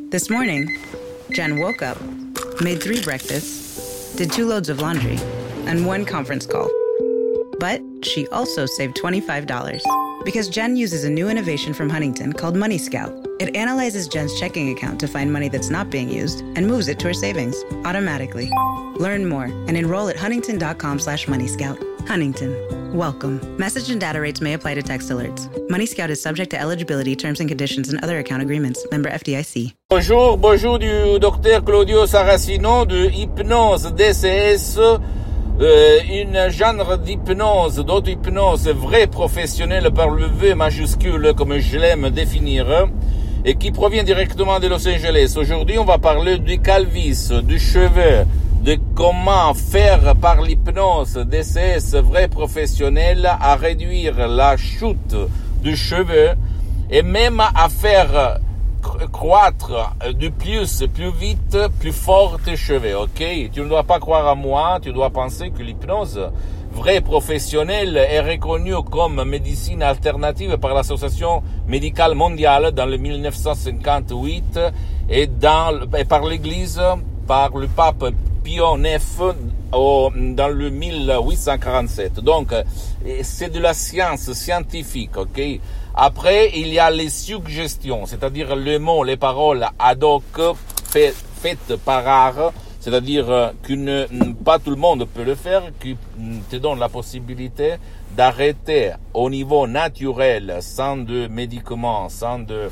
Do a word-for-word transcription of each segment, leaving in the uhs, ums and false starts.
This morning, Jen woke up, made three breakfasts, did two loads of laundry, and one conference call. But she also saved twenty-five dollars because Jen uses a new innovation from Huntington called Money Scout. It analyzes Jen's checking account to find money that's not being used and moves it to her savings automatically. Learn more and enroll at huntington.com slash money scout. Huntington. Welcome. Message and data rates may apply to text alerts. Money Scout is subject to eligibility, terms and conditions, and other account agreements. Member F D I C. Bonjour, bonjour du docteur Claudio Saracino de Hypnose D C S, euh, une genre d'hypnose, d'auto-hypnose vraie professionnelle par le V majuscule, comme je l'aime définir, et qui provient directement de Los Angeles. Aujourd'hui, on va parler du calvis, du cheveu, de comment faire par l'hypnose D C S vrai professionnel à réduire la chute du cheveu et même à faire croître de plus, plus vite, plus fort tes cheveux, ok? Tu ne dois pas croire à moi, tu dois penser que l'hypnose vraie professionnelle est reconnue comme médecine alternative par l'Association médicale mondiale dans le mille neuf cent cinquante-huit et, dans, et par l'Église, par le pape Pie neuf au, dans le mille huit cent quarante-sept. Donc, c'est de la science scientifique, ok? Après, il y a les suggestions, c'est-à-dire les mots, les paroles ad hoc fait, faites par art, c'est-à-dire que pas tout le monde peut le faire, qui te donne la possibilité d'arrêter au niveau naturel, sans de médicaments, sans de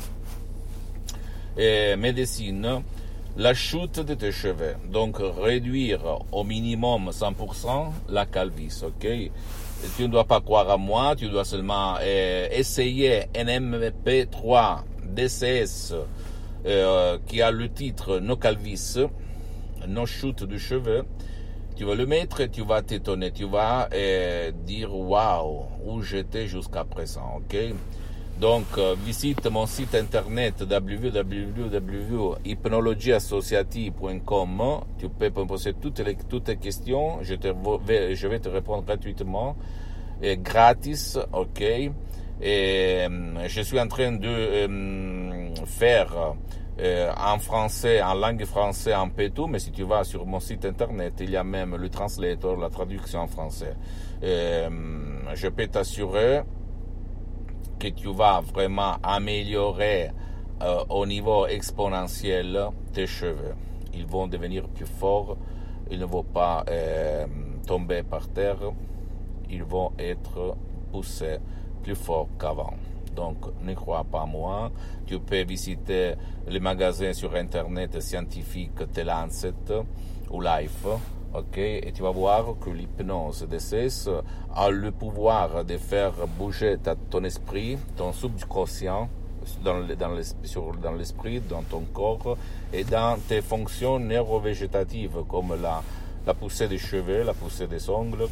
euh, médecine, la chute de tes cheveux. Donc, réduire au minimum cent pour cent la calvitie, ok? Tu ne dois pas croire à moi, tu dois seulement euh, essayer un M P trois D C S euh, qui a le titre No Calvis, No chute de cheveux. Tu vas le mettre et tu vas t'étonner, tu vas euh, dire waouh, où j'étais jusqu'à présent, ok? Donc, euh, visite mon site internet w w w point hypnologie associative point com. Tu peux me poser toutes les toutes tes questions. Je te vais, je vais te répondre gratuitement et gratis, ok? Et euh, je suis en train de euh, faire euh, en français, en langue française, en pétou, mais si tu vas sur mon site internet, il y a même le translator, la traduction en français. Euh, je peux t'assurer que tu vas vraiment améliorer euh, au niveau exponentiel tes cheveux. Ils vont devenir plus forts, ils ne vont pas euh, tomber par terre, ils vont être poussés plus fort qu'avant. Donc, ne crois pas à moi. Tu peux visiter les magasins sur Internet scientifiques The Lancet ou Life. Ok, et tu vas voir que l'hypnose D C S a le pouvoir de faire bouger ta, ton esprit, ton subconscient, dans, le, dans, sur, dans l'esprit, dans ton corps et dans tes fonctions neurovégétatives comme la, la poussée des cheveux, la poussée des ongles,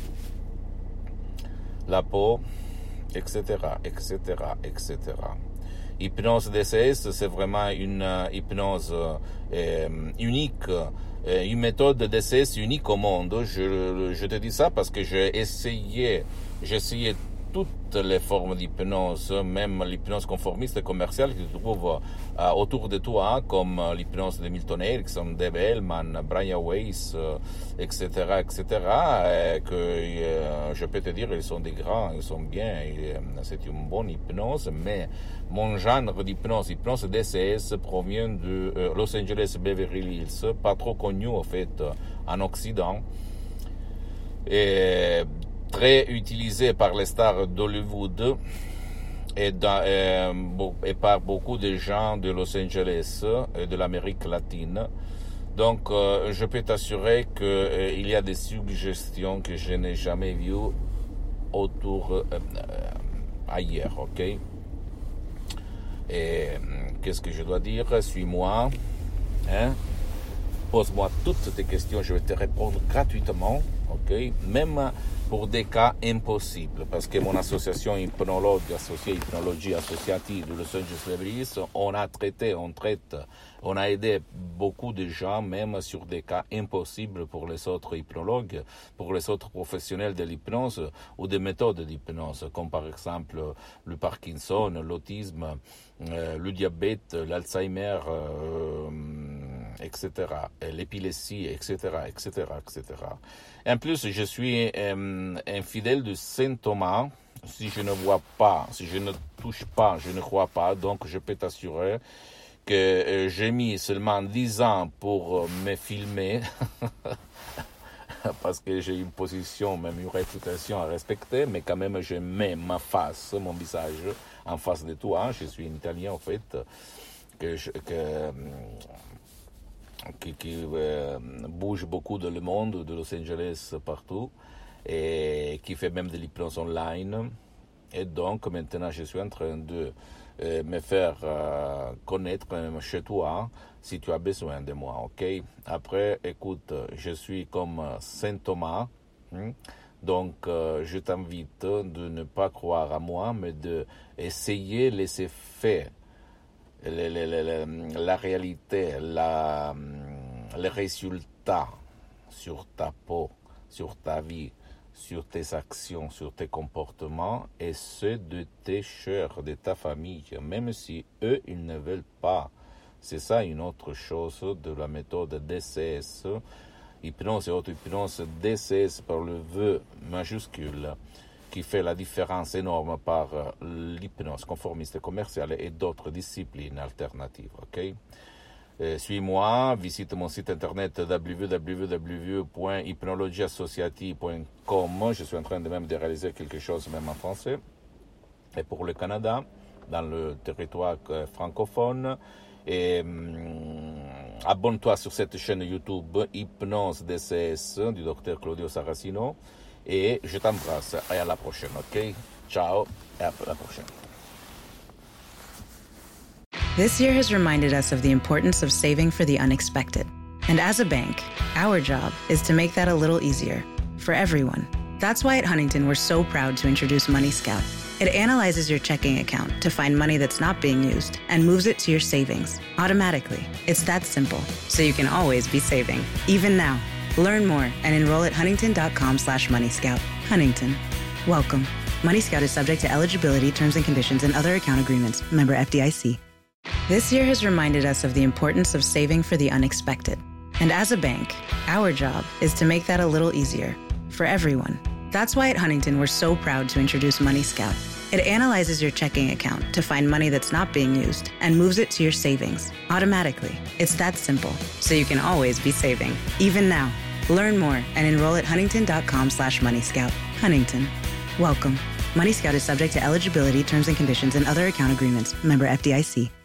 la peau, et cetera, et cetera, et cetera. Hypnose D C S, c'est vraiment une uh, hypnose euh, unique, euh, une méthode D C S unique au monde. Je, je te dis ça parce que j'ai essayé, j'ai essayé toutes les formes d'hypnose, même l'hypnose conformiste et commerciale que tu trouves euh, autour de toi, comme l'hypnose de Milton Erickson, Dave Hellman, Brian Weiss, euh, et cetera, et cetera, et que euh, je peux te dire, ils sont des grands, ils sont bien, et, euh, c'est une bonne hypnose, mais mon genre d'hypnose, hypnose D C S, provient de euh, Los Angeles Beverly Hills, pas trop connu en fait en Occident, et très utilisé par les stars d'Hollywood et, dans, et, et par beaucoup de gens de Los Angeles et de l'Amérique latine. Donc, euh, je peux t'assurer qu'il euh, y a des suggestions que je n'ai jamais vues autour euh, euh, ailleurs, ok? Et euh, qu'est-ce que je dois dire? Suis-moi, hein? Pose-moi toutes tes questions, je vais te répondre gratuitement, ok? Même pour des cas impossibles, parce que mon association hypnologue associée, hypnologie associative de Los Angeles Beverly Hills, on a traité, on traite, on a aidé beaucoup de gens, même sur des cas impossibles pour les autres hypnologues, pour les autres professionnels de l'hypnose ou des méthodes d'hypnose, comme par exemple le Parkinson, l'autisme, euh, le diabète, l'Alzheimer, euh, et cetera, et l'épilepsie, et cetera, et cetera, et cetera. Et en plus, je suis euh, un fidèle de Saint Thomas. Si je ne vois pas, si je ne touche pas, je ne crois pas. Donc, je peux t'assurer que euh, j'ai mis seulement dix ans pour euh, me filmer parce que j'ai une position, même une réputation à respecter, mais quand même, je mets ma face, mon visage en face de toi. Je suis un Italien, en fait, que, je, que qui, qui euh, bouge beaucoup dans le monde, de Los Angeles partout, et qui fait même de l'hypnose online. Et donc, maintenant, je suis en train de euh, me faire euh, connaître même chez toi, si tu as besoin de moi, ok? Après, écoute, je suis comme Saint Thomas, hein? Donc euh, je t'invite de ne pas croire à moi, mais d'essayer les effets, les, les, les, la réalité, la, les résultats sur ta peau, sur ta vie, sur tes actions, sur tes comportements, et ceux de tes chers, de ta famille, même si eux, ils ne veulent pas. C'est ça une autre chose de la méthode D C S, hypnose et auto-hypnose, D C S par le V majuscule, qui fait la différence énorme par l'hypnose conformiste commerciale et d'autres disciplines alternatives. Ok? Euh, suis-moi, visite mon site internet w w w point hypnologie associative point com. Je suis en train de même de réaliser quelque chose même en français. Et pour le Canada, dans le territoire francophone, et hum, abonne-toi sur cette chaîne YouTube Hypnose D C S du docteur Claudio Saracino, et je t'embrasse et à la prochaine, ok? Ciao et à la prochaine. This year has reminded us of the importance of saving for the unexpected. And as a bank, our job is to make that a little easier for everyone. That's why at Huntington, we're so proud to introduce Money Scout. It analyzes your checking account to find money that's not being used and moves it to your savings automatically. It's that simple, so you can always be saving, even now. Learn more and enroll at huntington.com slash Money Scout. Huntington. Welcome. Money Scout is subject to eligibility, terms and conditions, and other account agreements. Member F D I C. This year has reminded us of the importance of saving for the unexpected. And as a bank, our job is to make that a little easier for everyone. That's why at Huntington, we're so proud to introduce Money Scout. It analyzes your checking account to find money that's not being used and moves it to your savings automatically. It's that simple, so you can always be saving, even now. Learn more and enroll at huntington.com slash Money Scout. Huntington. Welcome. Money Scout is subject to eligibility, terms and conditions, and other account agreements. Member F D I C.